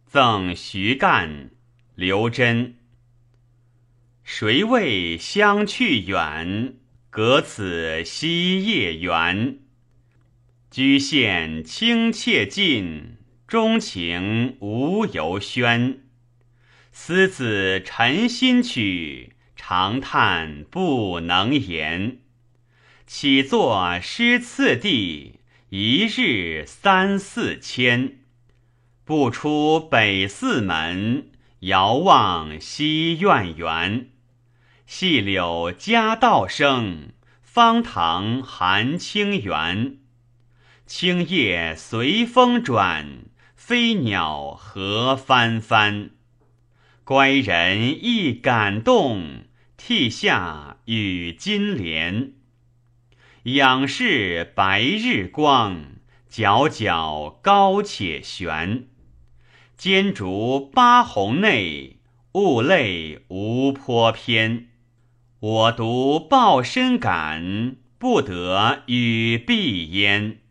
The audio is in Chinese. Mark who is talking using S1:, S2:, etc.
S1: 赠徐干、刘桢。谁为相去远，隔此西叶园。居羡清妾近，钟情无由宣。思子陈心曲，长叹不能言。起作诗次第，一日3、4千。不出北四门，遥望西苑园。细柳夹道生，芳塘含清源。青叶随风转，飞鸟何翻翻。乖人亦感动，涕下与金莲。仰视白日光，皎皎高且悬。兼竹八红内，物类无颇偏。我独抱深感，不得与避焉。